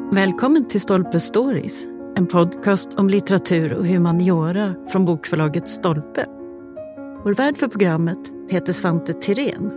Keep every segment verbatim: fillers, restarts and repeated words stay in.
Välkommen till Stolpe Stories, en podcast om litteratur och humaniora från bokförlaget Stolpe. Vår värd för programmet heter Svante Tirén.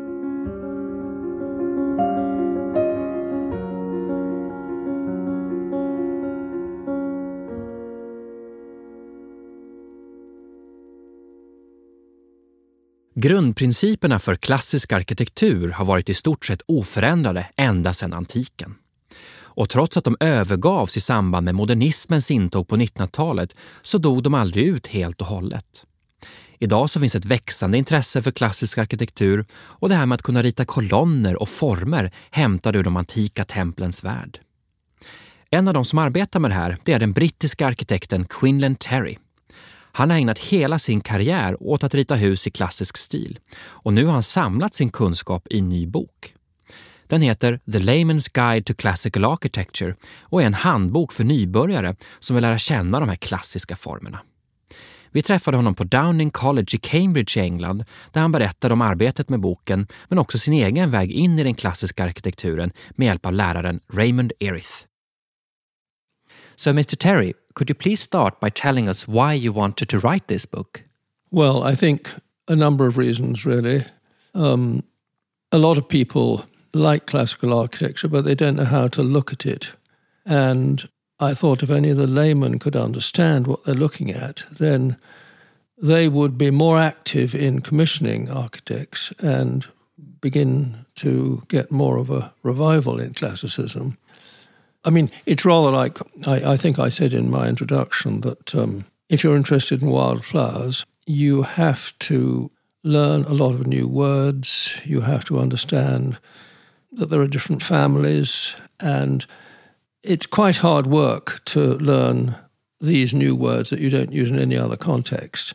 Grundprinciperna för klassisk arkitektur har varit i stort sett oförändrade ända sedan antiken. Och trots att de övergavs i samband med modernismens intåg på nittonhundratalet så dog de aldrig ut helt och hållet. Idag så finns ett växande intresse för klassisk arkitektur och det här med att kunna rita kolonner och former hämtade ur de antika templens värld. En av de som arbetar med det här det är den brittiska arkitekten Quinlan Terry. Han har ägnat hela sin karriär åt att rita hus i klassisk stil och nu har han samlat sin kunskap i en ny bok. Den heter The Layman's Guide to Classical Architecture och är en handbok för nybörjare som vill lära känna de här klassiska formerna. Vi träffade honom på Downing College i Cambridge i England där han berättade om arbetet med boken men också sin egen väg in i den klassiska arkitekturen med hjälp av läraren Raymond Erith. So mister Terry, could you please start by telling us why you wanted to write this book? Well, I think a number of reasons really. Um, a lot of people like classical architecture, but they don't know how to look at it. And I thought if any of the laymen could understand what they're looking at, then they would be more active in commissioning architects and begin to get more of a revival in classicism. I mean, it's rather like, I, I think I said in my introduction that um, if you're interested in wildflowers, you have to learn a lot of new words, you have to understand that there are different families, and it's quite hard work to learn these new words that you don't use in any other context.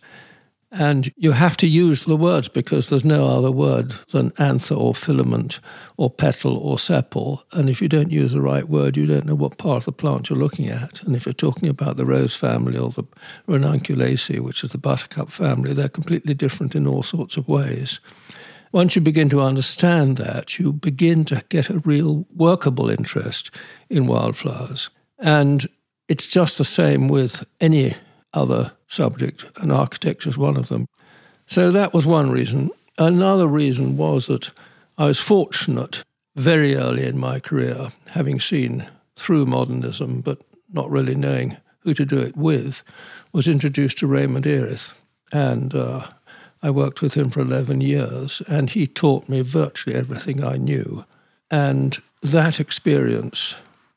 And you have to use the words because there's no other word than anther or filament or petal or sepal. And if you don't use the right word, you don't know what part of the plant you're looking at. And if you're talking about the rose family or the ranunculaceae, which is the buttercup family, they're completely different in all sorts of ways. Once you begin to understand that, you begin to get a real workable interest in wildflowers. And it's just the same with any other subject, and architecture is one of them. So that was one reason. Another reason was that I was fortunate very early in my career, having seen through modernism, but not really knowing who to do it with, was introduced to Raymond Erith. And uh, I worked with him for eleven years, and he taught me virtually everything I knew. And that experience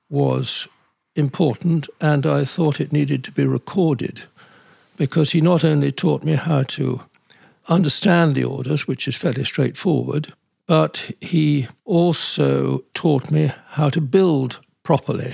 was important, and I thought it needed to be recorded, because he not only taught me how to understand the orders, which is fairly straightforward, but he also taught me how to build properly.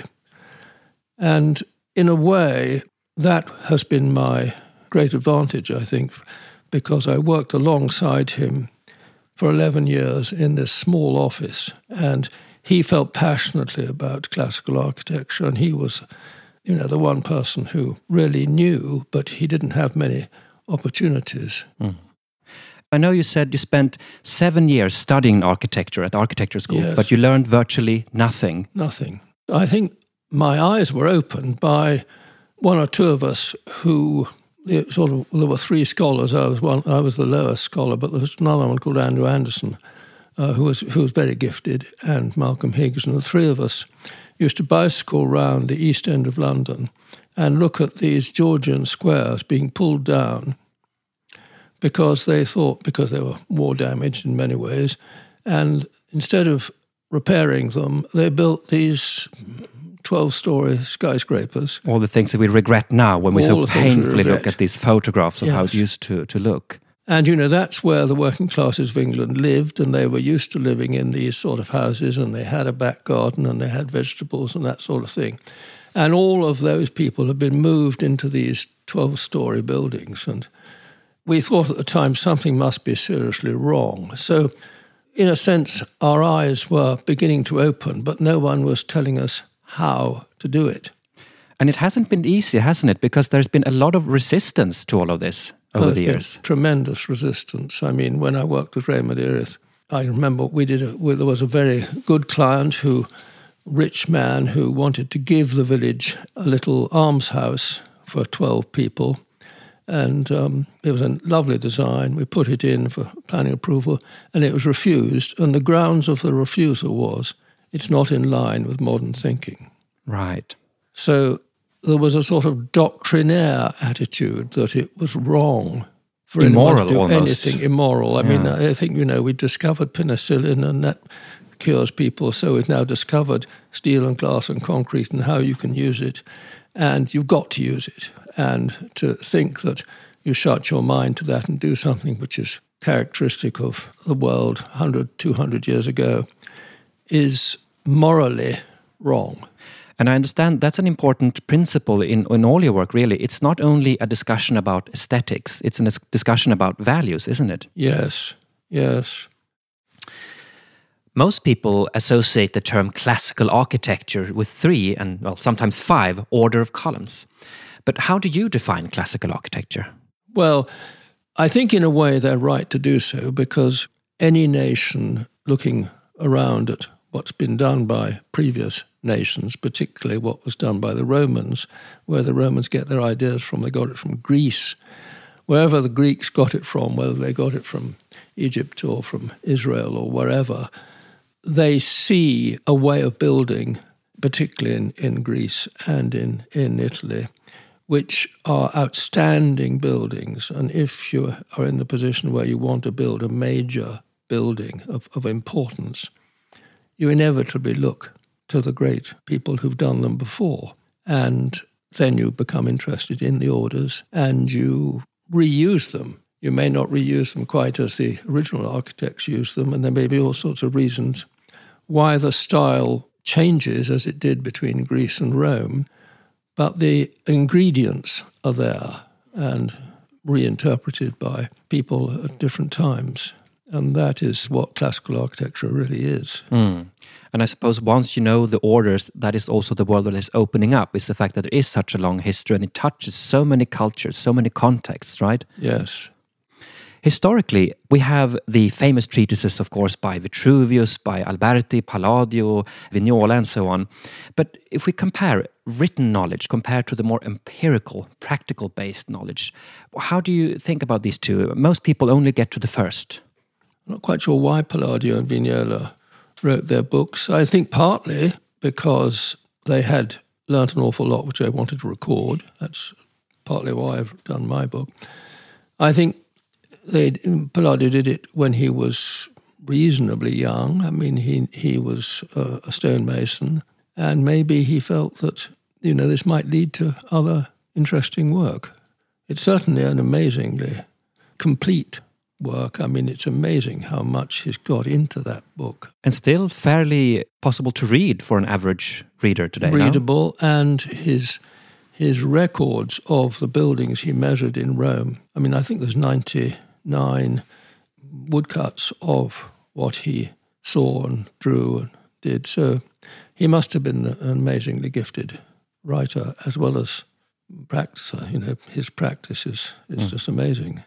And in a way, that has been my great advantage, I think, because I worked alongside him for eleven years in this small office, and he felt passionately about classical architecture, and he was, you know, the one person who really knew, but he didn't have many opportunities. Mm. I know you said you spent seven years studying architecture at architecture school, yes. But you learned virtually nothing. Nothing. I think my eyes were opened by one or two of us who sort of, there were three scholars. I was one. I was the lowest scholar, but there was another one called Andrew Anderson, uh, who was who was very gifted, and Malcolm Higgs, and the three of us used to bicycle around the East End of London and look at these Georgian squares being pulled down because they thought, because they were war damaged in many ways, and instead of repairing them, they built these twelve-storey skyscrapers. All the things that we regret now when we All so painfully we look at these photographs of yes. how it used to, to look. And, you know, that's where the working classes of England lived, and they were used to living in these sort of houses, and they had a back garden, and they had vegetables and that sort of thing. And all of those people have been moved into these twelve-storey buildings, and we thought at the time something must be seriously wrong. So, in a sense, our eyes were beginning to open, but no one was telling us how to do it. And it hasn't been easy, hasn't it? Because there's been a lot of resistance to all of this over oh, the years. Tremendous resistance. I mean, when I worked with Raymond Erith, I remember we did. A, there was a very good client who rich man who wanted to give the village a little almshouse for twelve people. And um, it was a lovely design. We put it in for planning approval, and it was refused. And the grounds of the refusal was it's not in line with modern thinking. Right. So there was a sort of doctrinaire attitude that it was wrong for immoral anyone to do almost. anything immoral. I Yeah. mean, I think, you know, we discovered penicillin and that cures people, so we've now discovered steel and glass and concrete and how you can use it, and you've got to use it. And to think that you shut your mind to that and do something which is characteristic of the world one hundred, two hundred years ago is morally wrong. And I understand that's an important principle in, in all your work, really. It's not only a discussion about aesthetics, it's a discussion about values, isn't it? Yes, yes. Most people associate the term classical architecture with three and, well, sometimes five order of columns. But how do you define classical architecture? Well, I think in a way they're right to do so, because any nation looking around at what's been done by previous nations, particularly what was done by the Romans, where the Romans get their ideas from, they got it from Greece. Wherever the Greeks got it from, whether they got it from Egypt or from Israel or wherever, they see a way of building, particularly in, in Greece and in, in Italy, which are outstanding buildings. And if you are in the position where you want to build a major building of, of importance, you inevitably look to the great people who've done them before. And then you become interested in the orders and you reuse them. You may not reuse them quite as the original architects used them, and there may be all sorts of reasons why the style changes as it did between Greece and Rome, but the ingredients are there and reinterpreted by people at different times. And that is what classical architecture really is. Mm. And I suppose once you know the orders, that is also the world that is opening up, is the fact that there is such a long history and it touches so many cultures, so many contexts, right? Yes. Historically, we have the famous treatises, of course, by Vitruvius, by Alberti, Palladio, Vignola, and so on. But if we compare written knowledge compared to the more empirical, practical-based knowledge, how do you think about these two? Most people only get to the first. I'm not quite sure why Palladio and Vignola wrote their books. I think partly because they had learnt an awful lot which they wanted to record. That's partly why I've done my book. I think they Palladio did it when he was reasonably young. I mean, he he was a, a stonemason, and maybe he felt that, you know, this might lead to other interesting work. It's certainly an amazingly complete work. I mean, it's amazing how much he's got into that book. And still fairly possible to read for an average reader today, Readable, no? and his his records of the buildings he measured in Rome. I mean, I think there's ninety-nine woodcuts of what he saw and drew and did. So he must have been an amazingly gifted writer as well as practicer. You know, his practice is, is mm. just amazing.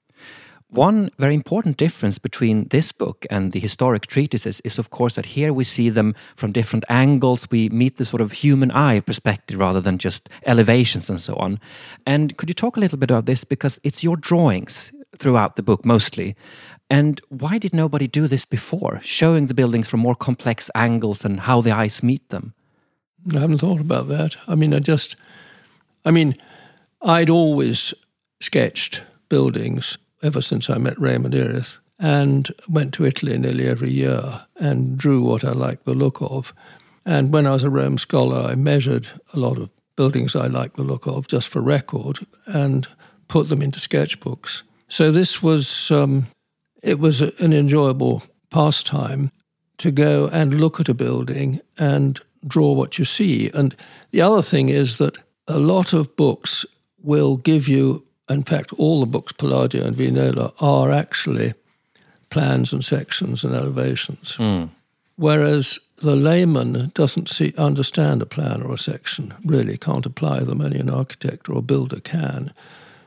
One very important difference between this book and the historic treatises is, of course, that here we see them from different angles. We meet the sort of human eye perspective rather than just elevations and so on. And could you talk a little bit about this? Because it's your drawings throughout the book mostly. And why did nobody do this before, showing the buildings from more complex angles and how the eyes meet them? I haven't thought about that. I mean, I just, I mean, I'd always sketched buildings ever since I met Raymond Irith, and went to Italy nearly every year and drew what I liked the look of. And when I was a Rome scholar, I measured a lot of buildings I liked the look of just for record and put them into sketchbooks. So this was, um, it was an enjoyable pastime to go and look at a building and draw what you see. And the other thing is that a lot of books will give you, in fact, all the books, Palladio and Vignola, are actually plans and sections and elevations. Mm. Whereas the layman doesn't see, understand a plan or a section, really can't apply them. Only an architect or a builder can.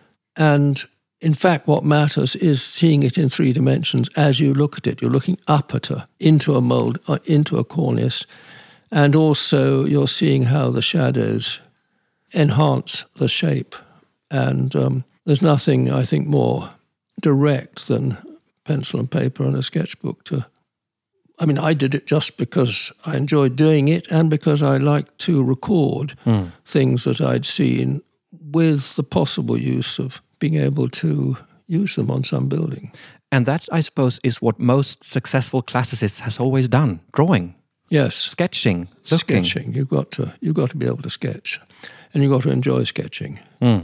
And in fact, what matters is seeing it in three dimensions as you look at it. You're looking up at a, into a mould, uh, into a cornice, And also you're seeing how the shadows enhance the shape. And um, there's nothing, I think, more direct than pencil and paper and a sketchbook to... I mean, I did it just because I enjoyed doing it and because I liked to record mm. things that I'd seen with the possible use of being able to use them on some building. And that, I suppose, is what most successful classicists has always done, drawing. Yes. Sketching, looking. Sketching. You've got to, you've got to be able to sketch. And you've got to enjoy sketching. Mm.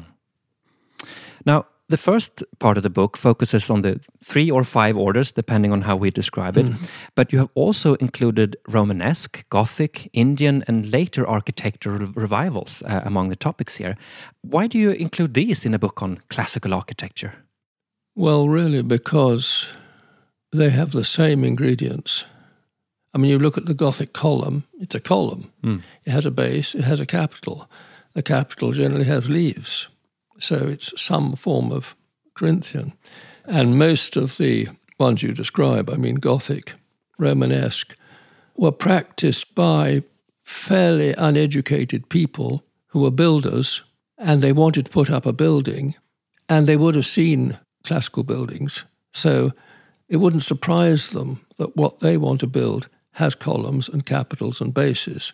Now, the first part of the book focuses on the three or five orders, depending on how we describe it. Mm. But you have also included Romanesque, Gothic, Indian, and later architectural revivals uh, among the topics here. Why do you include these in a book on classical architecture? Well, really, because they have the same ingredients. I mean, you look at the Gothic column, it's a column. Mm. It has a base, it has a capital. The capital generally has leaves. So it's some form of Corinthian. And most of the ones you describe, I mean, Gothic, Romanesque, were practiced by fairly uneducated people who were builders, and they wanted to put up a building, and they would have seen classical buildings. So it wouldn't surprise them that what they want to build has columns and capitals and bases.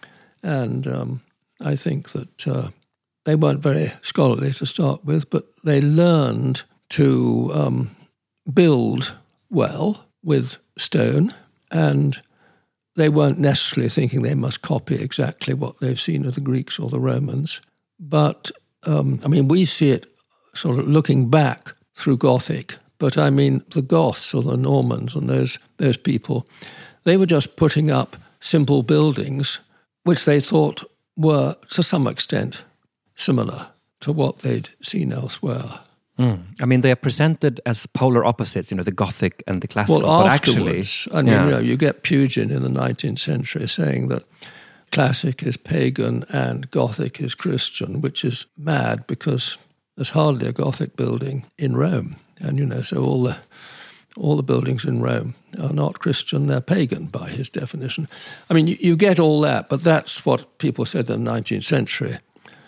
And um, I think that... Uh, They weren't very scholarly to start with, but they learned to um, build well with stone, and they weren't necessarily thinking they must copy exactly what they've seen of the Greeks or the Romans. But, um, I mean, we see it sort of looking back through Gothic, but I mean, the Goths or the Normans and those those people, they were just putting up simple buildings which they thought were, to some extent, similar to what they'd seen elsewhere. Mm. I mean, they are presented as polar opposites, you know, the Gothic and the classical. Well, but afterwards, actually, I mean, yeah. you know, you get Pugin in the nineteenth century saying that classic is pagan and Gothic is Christian, which is mad because there's hardly a Gothic building in Rome. And, you know, so all the all the buildings in Rome are not Christian, they're pagan by his definition. I mean, you, you get all that, but that's what people said in the nineteenth century.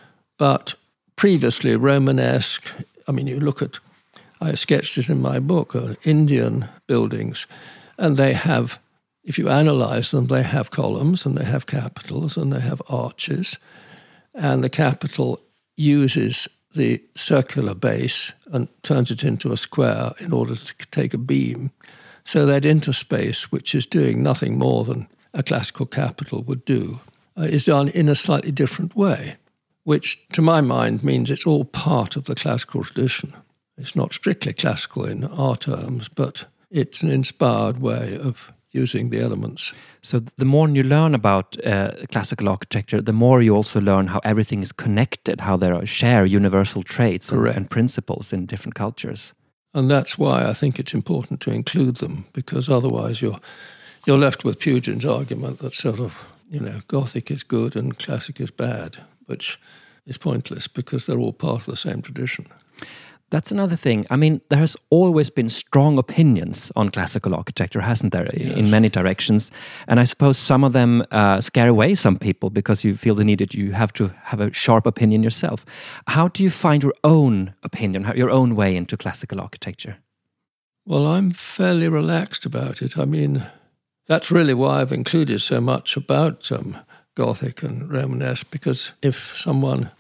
But previously, Romanesque, I mean, you look at, I sketched it in my book, uh, Indian buildings, and they have, if you analyze them, they have columns and they have capitals and they have arches, and the capital uses the circular base and turns it into a square in order to take a beam. So that interspace, which is doing nothing more than a classical capital would do, uh, is done in a slightly different way, which to my mind means it's all part of the classical tradition. It's not strictly classical in our terms, but it's an inspired way of using the elements. So the more you learn about uh, classical architecture, the more you also learn how everything is connected, how there are share universal traits and, and principles in different cultures. And that's why I think it's important to include them, because otherwise you're you're left with Pugin's argument that sort of, you know, Gothic is good and classic is bad, which is pointless because they're all part of the same tradition. That's another thing. I mean, there has always been strong opinions on classical architecture, hasn't there, yes. in many directions? And I suppose some of them uh, scare away some people because you feel the need that you have to have a sharp opinion yourself. How do you find your own opinion, your own way into classical architecture? Well, I'm fairly relaxed about it. I mean, that's really why I've included so much about um, Gothic and Romanesque, because if someone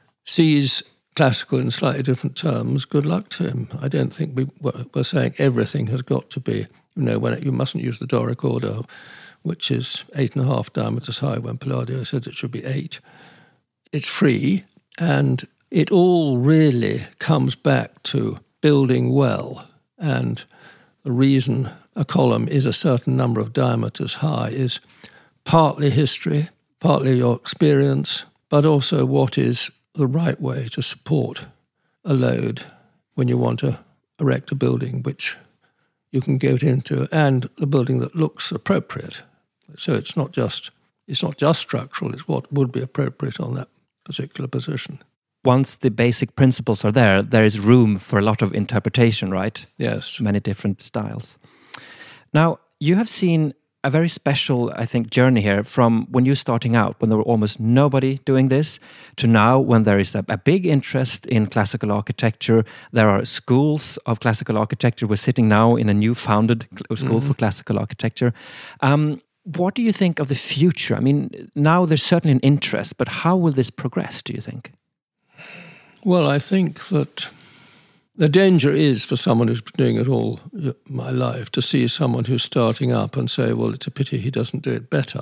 sees classical in slightly different terms, good luck to him. I don't think we, we're saying everything has got to be, you know, when it, you mustn't use the Doric order, which is eight and a half diameters high, when Palladio said it should be eight. It's free, and it all really comes back to building well. And the reason a column is a certain number of diameters high is partly history, partly your experience, but also what is the right way to support a load when you want to erect a building which you can get into, and a building that looks appropriate. So it's not just it's not just structural, it's what would be appropriate on that particular position. Once the basic principles are there, there is room for a lot of interpretation, right? Yes. Many different styles. Now, you have seen a very special, I think, journey here from when you're starting out, when there were almost nobody doing this, to now when there is a, a big interest in classical architecture. There are schools of classical architecture. We're sitting now in a new founded school mm-hmm. for classical architecture. Um, what do you think of the future? I mean, now there's certainly an interest, but how will this progress, do you think? Well, I think that the danger is for someone who's been doing it all my life to see someone who's starting up and say, well, it's a pity he doesn't do it better.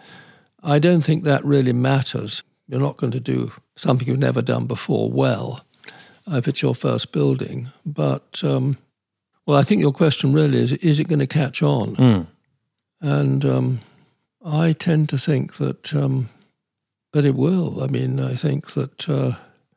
I don't think that really matters. You're not going to do something you've never done before well if it's your first building. But, um, well, I think your question really is, is it going to catch on? Mm. And um, I tend to think that, um, that it will. I mean, I think that... Uh,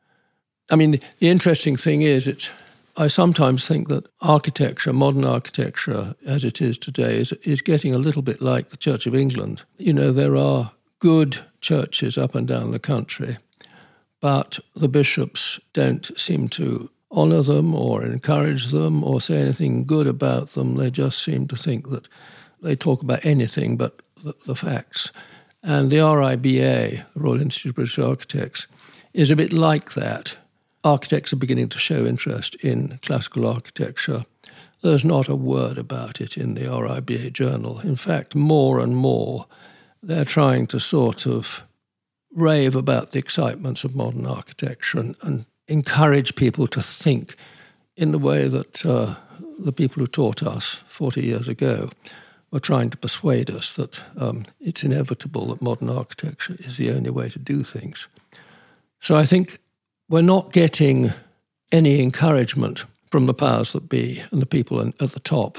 I mean, the, the interesting thing is, it's. I sometimes think that architecture, modern architecture, as it is today, is is getting a little bit like the Church of England. You know, there are good churches up and down the country, but the bishops don't seem to honour them or encourage them or say anything good about them. They just seem to think that they talk about anything but the, the facts. And the R I B A, the Royal Institute of British Architects, is a bit like that. Architects are beginning to show interest in classical architecture. There's not a word about it in the R I B A journal. In fact, more and more, they're trying to sort of rave about the excitements of modern architecture and, and encourage people to think in the way that uh, the people who taught us forty years ago were trying to persuade us that um, it's inevitable that modern architecture is the only way to do things. So I think we're not getting any encouragement from the powers that be and the people at the top.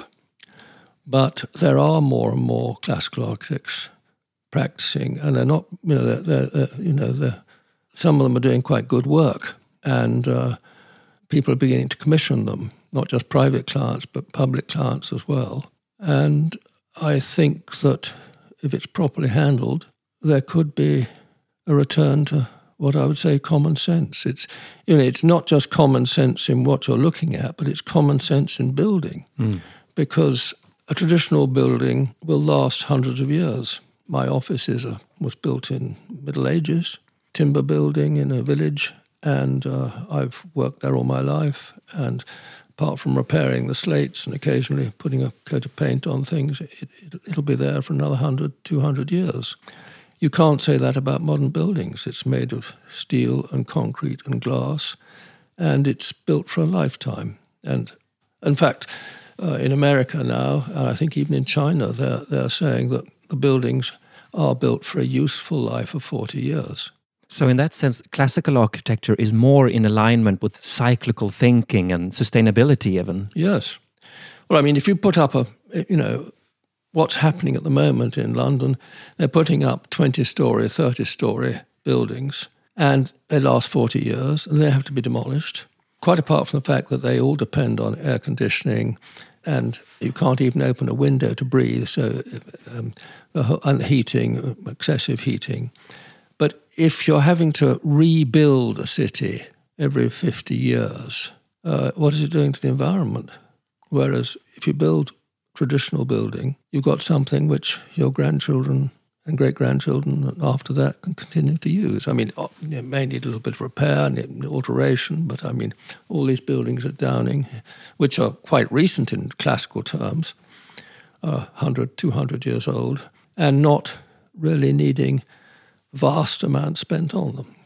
But there are more and more classical architects practicing, and they're not, you know, they're, they're, they're, you know, they're, some of them are doing quite good work, and uh, people are beginning to commission them, not just private clients, but public clients as well. And I think that if it's properly handled, there could be a return to what I would say common sense. It's, you know, it's not just common sense in what you're looking at, but it's common sense in building, mm. because a traditional building will last hundreds of years. My office is a, was built in Middle Ages, timber building in a village, and uh, I've worked there all my life. And apart from repairing the slates and occasionally putting a coat of paint on things, it, it, it'll be there for another one hundred, two hundred years. You can't say that about modern buildings. It's made of steel and concrete and glass, and it's built for a lifetime. And in fact, uh, in America now, and I think even in China, they're, they're saying that the buildings are built for a useful life of forty years. So in that sense, classical architecture is more in alignment with cyclical thinking and sustainability even. Yes. Well, I mean, if you put up a, you know, what's happening at the moment in London, they're putting up twenty-storey, thirty-storey buildings, and they last forty years, and they have to be demolished, quite apart from the fact that they all depend on air conditioning, and you can't even open a window to breathe, so um, and heating, excessive heating. But if you're having to rebuild a city every fifty years, uh, what is it doing to the environment? Whereas if you build traditional building, you've got something which your grandchildren and great-grandchildren after that can continue to use. I mean, it may need a little bit of repair and alteration, but I mean, all these buildings at Downing, which are quite recent in classical terms, are one hundred, two hundred years old, and not really needing vast amounts spent on them.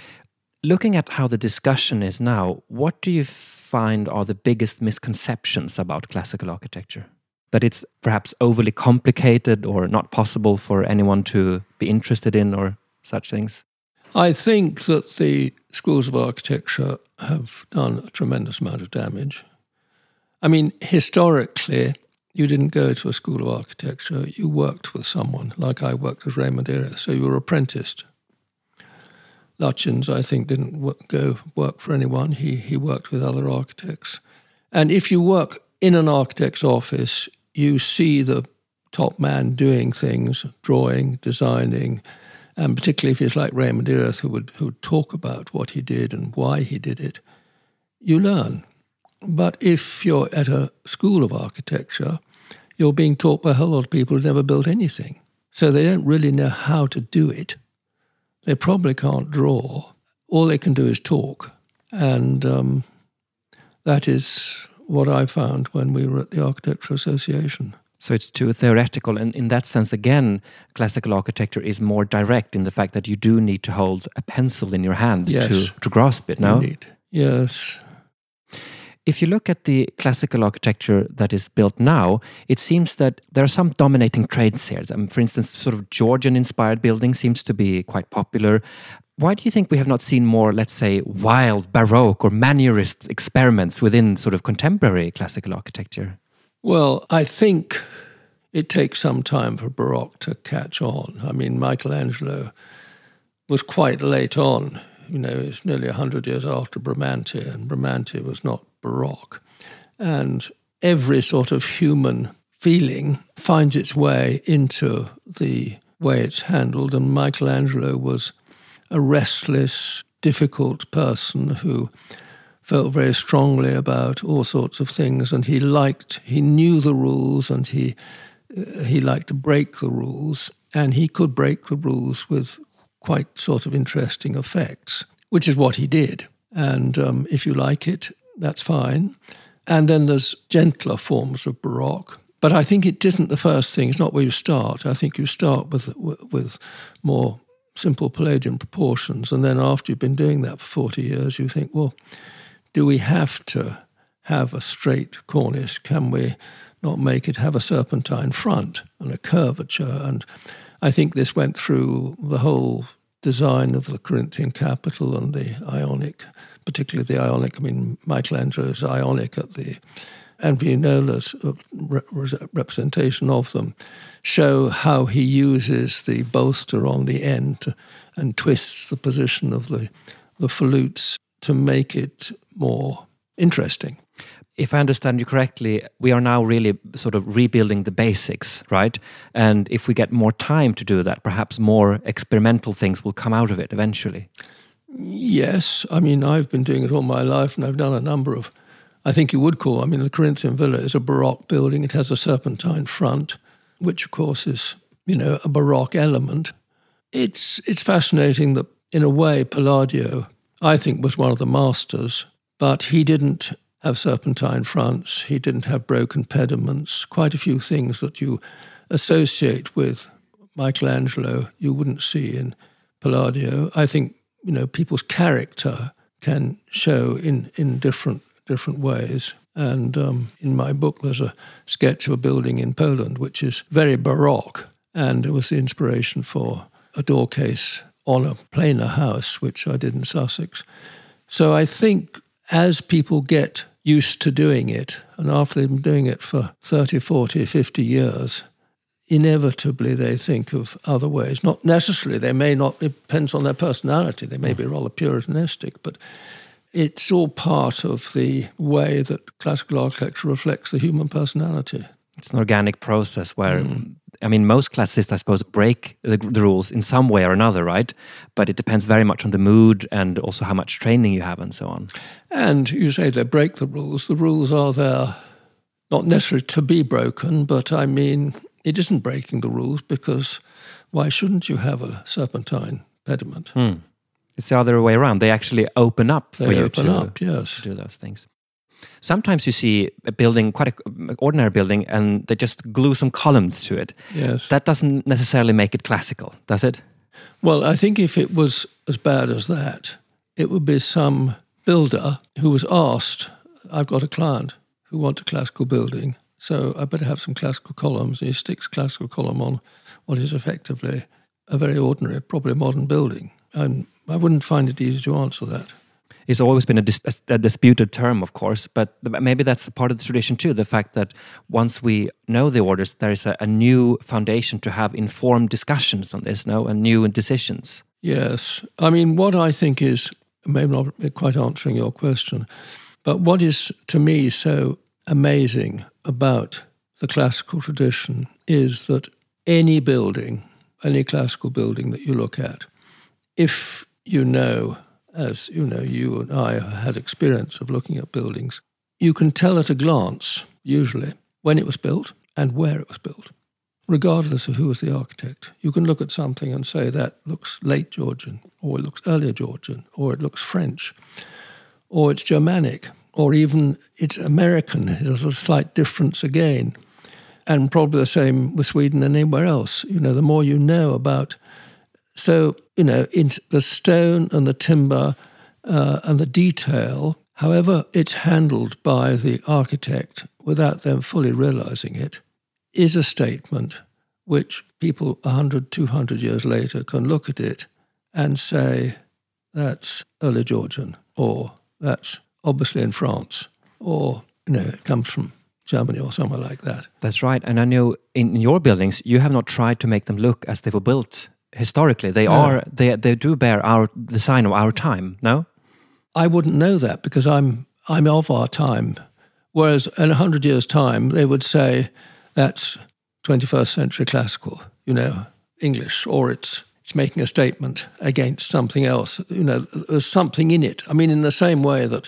Looking at how the discussion is now, what do you find are the biggest misconceptions about classical architecture? That it's perhaps overly complicated or not possible for anyone to be interested in or such things? I think that the schools of architecture have done a tremendous amount of damage. I mean, historically, you didn't go to a school of architecture, you worked with someone, like I worked with Raymond Irra, so you were apprenticed. Lutyens, I think, didn't work, go work for anyone. He, he worked with other architects. And if you work in an architect's office, you see the top man doing things, drawing, designing, and particularly if it's like Raymond Irra, who would, who would talk about what he did and why he did it, you learn. But if you're at a school of architecture, you're being taught by a whole lot of people who never built anything. So they don't really know how to do it. They probably can't draw. All they can do is talk. And um, that is what I found when we were at the Architectural Association. So it's too theoretical, and in that sense, again, classical architecture is more direct in the fact that you do need to hold a pencil in your hand yes. to, to grasp it, no? Indeed. Yes. If you look at the classical architecture that is built now, it seems that there are some dominating trends here. I mean, for instance, sort of Georgian-inspired building seems to be quite popular. Why do you think we have not seen more, let's say, wild Baroque or Mannerist experiments within sort of contemporary classical architecture? Well, I think it takes some time for Baroque to catch on. I mean, Michelangelo was quite late on. You know, it's nearly one hundred years after Bramante, and Bramante was not Baroque. And every sort of human feeling finds its way into the way it's handled, and Michelangelo was a restless, difficult person who felt very strongly about all sorts of things, and he liked, he knew the rules, and he uh, he liked to break the rules, and he could break the rules with quite sort of interesting effects, which is what he did. And um, if you like it, that's fine. And then there's gentler forms of Baroque, but I think it isn't the first thing. It's not where you start. I think you start with with more simple Palladian proportions, and then after you've been doing that for forty years, you think, well, do we have to have a straight cornice? Can we not make it have a serpentine front and a curvature? And I think this went through the whole design of the Corinthian capital and the Ionic, particularly the Ionic. I mean, Michelangelo's Ionic at the and Vignola's representation of them show how he uses the bolster on the end to, and twists the position of the the volutes to make it more interesting. If I understand you correctly, we are now really sort of rebuilding the basics, right? And if we get more time to do that, perhaps more experimental things will come out of it eventually. Yes. I mean, I've been doing it all my life, and I've done a number of, I think you would call, I mean, the Corinthian Villa is a Baroque building. It has a serpentine front, which, of course, is, you know, a Baroque element. It's it's fascinating that, in a way, Palladio, I think, was one of the masters, but he didn't have serpentine fronts, he didn't have broken pediments, quite a few things that you associate with Michelangelo you wouldn't see in Palladio. I think, you know, people's character can show in, in different different ways. And um, in my book, there's a sketch of a building in Poland which is very Baroque, and it was the inspiration for a door case on a plainer house, which I did in Sussex. So I think as people get used to doing it, and after they've been doing it for thirty, forty, fifty years, inevitably they think of other ways. Not necessarily, they may not, it depends on their personality, they may be rather puritanistic, but it's all part of the way that classical architecture reflects the human personality. It's an organic process where, mm. I mean, most classicists, I suppose, break the, the rules in some way or another, right? But it depends very much on the mood and also how much training you have and so on. And you say they break the rules. The rules are there not necessarily to be broken, but I mean, it isn't breaking the rules because why shouldn't you have a serpentine pediment? Mm. It's the other way around. They actually open up for they you open to, up, yes. to do those things. Sometimes you see a building, quite an ordinary building, and they just glue some columns to it. Yes. That doesn't necessarily make it classical, does it? Well, I think if it was as bad as that, it would be some builder who was asked, I've got a client who wants a classical building, so I better have some classical columns. And he sticks a classical column on what is effectively a very ordinary, probably modern building. And I wouldn't find it easy to answer that. It's always been a, dis- a disputed term, of course, but maybe that's part of the tradition too, the fact that once we know the orders, there is a, a new foundation to have informed discussions on this, no, and new decisions. Yes. I mean, what I think is, maybe not quite answering your question, but what is, to me, so amazing about the classical tradition is that any building, any classical building that you look at, if you know, as you know, you and I had experience of looking at buildings, you can tell at a glance, usually, when it was built and where it was built, regardless of who was the architect. You can look at something and say that looks late Georgian, or it looks earlier Georgian, or it looks French, or it's Germanic, or even it's American. There's a slight difference again. And probably the same with Sweden and anywhere else. You know, the more you know about... So, you know, in the stone and the timber uh, and the detail, however it's handled by the architect without them fully realizing it, is a statement which people one hundred, two hundred years later can look at it and say, that's early Georgian, or that's obviously in France, or, you know, it comes from Germany or somewhere like that. That's right. And I know in your buildings, you have not tried to make them look as they were built historically. They no. are, they they do bear our the sign of our time, no? I wouldn't know that because I'm I'm of our time. Whereas in a hundred years' time, they would say that's twenty-first century classical, you know, English, or it's it's making a statement against something else. You know, there's something in it. I mean, in the same way that,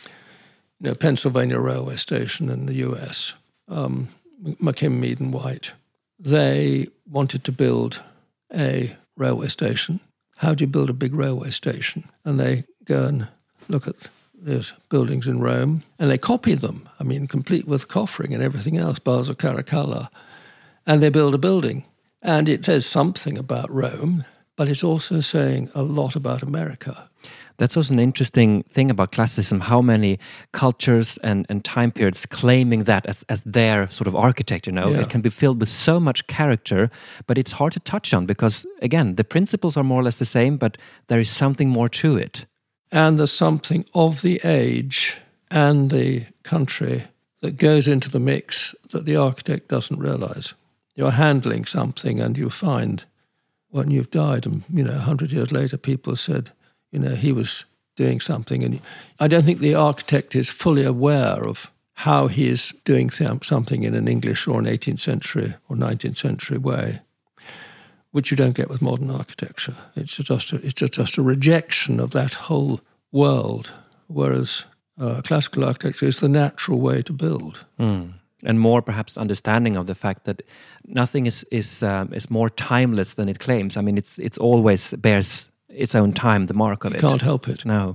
you know, Pennsylvania Railway Station in the U S, um, McKim, Mead and White, they wanted to build a railway station. How do you build a big railway station? And they go and look at these buildings in Rome, and they copy them, I mean, complete with coffering and everything else, bars of Caracalla, and they build a building. And it says something about Rome, but it's also saying a lot about America. That's also an interesting thing about classicism, how many cultures and, and time periods claiming that as, as their sort of architecture, you know? Yeah. It can be filled with so much character, but it's hard to touch on because, again, the principles are more or less the same, but there is something more to it. And there's something of the age and the country that goes into the mix that the architect doesn't realize. You're handling something and you find when you've died and, you know, a hundred years later, people said, you know, he was doing something. And I don't think the architect is fully aware of how he is doing th- something in an English or an eighteenth century or nineteenth century way, which you don't get with modern architecture. It's just a, it's just a rejection of that whole world, whereas uh, classical architecture is the natural way to build. Mm. And more perhaps understanding of the fact that nothing is is um, is more timeless than it claims. I mean, it's it's always bears its own time, the mark of you it. You can't help it. No.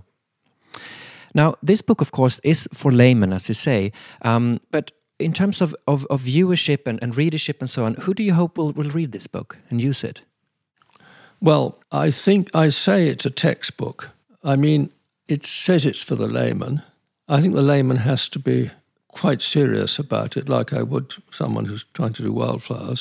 Now, this book, of course, is for laymen, as you say. Um, but in terms of, of, of viewership and, and readership and so on, who do you hope will, will read this book and use it? Well, I think I say it's a textbook. I mean, it says it's for the layman. I think the layman has to be quite serious about it, like I would someone who's trying to do wildflowers.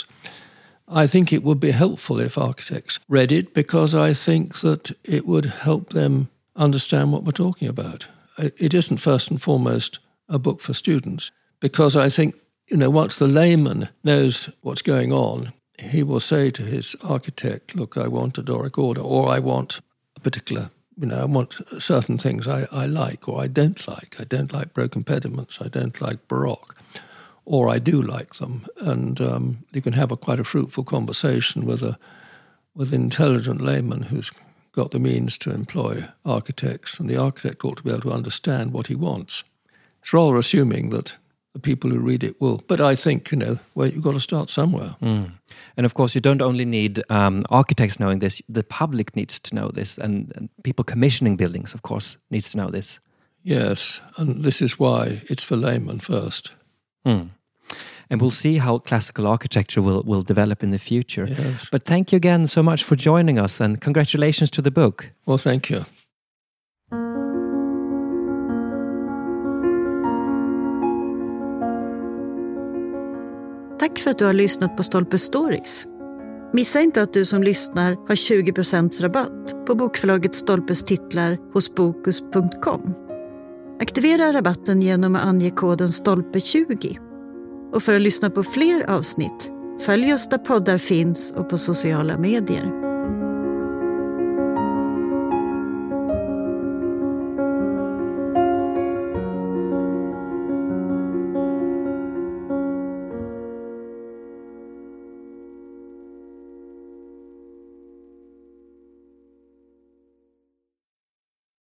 I think it would be helpful if architects read it because I think that it would help them understand what we're talking about. It isn't first and foremost a book for students because I think, you know, once the layman knows what's going on, he will say to his architect, look, I want a Doric order, or I want a particular, you know, I want certain things I, I like or I don't like. I don't like broken pediments. I don't like Baroque. Or I do like them, and um, you can have a quite a fruitful conversation with a with an intelligent layman who's got the means to employ architects, and the architect ought to be able to understand what he wants. It's rather assuming that the people who read it will, but I think, you know, well, you've got to start somewhere. Mm. And of course, you don't only need um, architects knowing this; the public needs to know this, and, and people commissioning buildings, of course, needs to know this. Yes, and this is why it's for laymen first. Mm. And we'll see how classical architecture will, will develop in the future. Yes. But thank you again so much for joining us, and congratulations to the book. Well, thank you. Tack för att du har lyssnat på Stolpe Stories. Missa inte att du som lyssnar har tjugo procent rabatt på bokförlaget Stolpes titlar hos bokus punkt com. Aktivera rabatten genom att ange koden stolpe tjugo. Och för att lyssna på fler avsnitt, följ oss där poddar finns och på sociala medier.